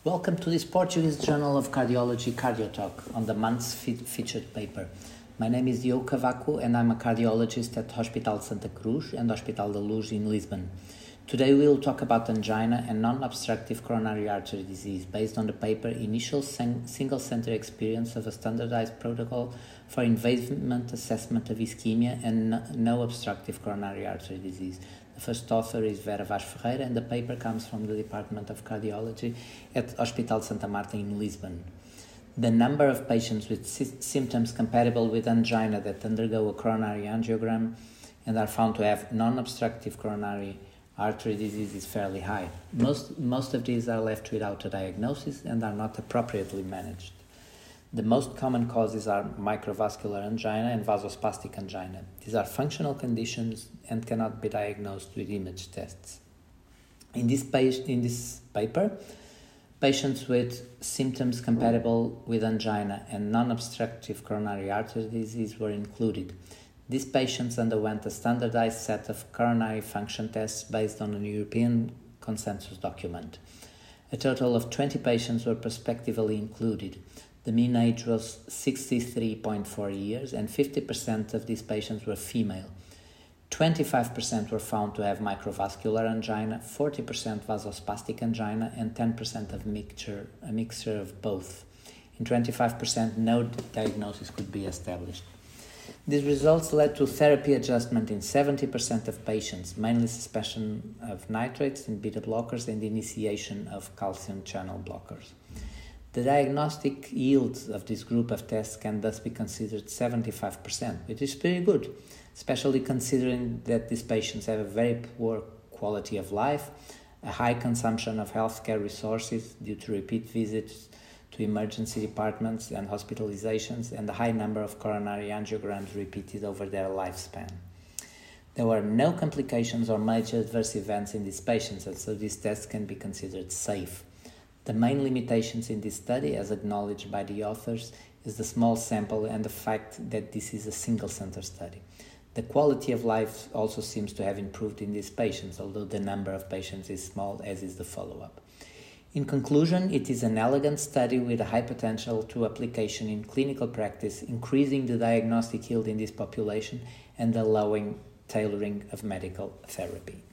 Welcome to this Portuguese Journal of Cardiology CardioTalk on the month's featured paper. My name is Diogo Cavaco and I'm a cardiologist at Hospital Santa Cruz and Hospital da Luz in Lisbon. Today we will talk about angina and non-obstructive coronary artery disease based on the paper Initial Single-Center Experience of a Standardized Protocol for Invasement Assessment of Ischemia and No Obstructive Coronary Artery Disease. The first author is Vera Vaz Ferreira and the paper comes from the Department of Cardiology at Hospital Santa Marta in Lisbon. The number of patients with symptoms compatible with angina that undergo a coronary angiogram and are found to have non-obstructive coronary artery disease is fairly high. Most of these are left without a diagnosis and are not appropriately managed. The most common causes are microvascular angina and vasospastic angina. These are functional conditions and cannot be diagnosed with image tests. In this paper, patients with symptoms compatible with angina and non-obstructive coronary artery disease were included. These patients underwent a standardized set of coronary function tests based on a European consensus document. A total of 20 patients were prospectively included. The mean age was 63.4 years and 50% of these patients were female. 25% were found to have microvascular angina, 40% vasospastic angina, and 10% of a mixture of both. In 25%, no diagnosis could be established. These results led to therapy adjustment in 70% of patients, mainly suspension of nitrates and beta blockers and initiation of calcium channel blockers. The diagnostic yield of this group of tests can thus be considered 75%, which is pretty good, especially considering that these patients have a very poor quality of life, a high consumption of healthcare resources due to repeat visits to emergency departments and hospitalizations, and a high number of coronary angiograms repeated over their lifespan. There were no complications or major adverse events in these patients, and so these tests can be considered safe. The main limitations in this study, as acknowledged by the authors, is the small sample and the fact that this is a single-center study. The quality of life also seems to have improved in these patients, although the number of patients is small, as is the follow-up. In conclusion, it is an elegant study with a high potential to application in clinical practice, increasing the diagnostic yield in this population and allowing tailoring of medical therapy.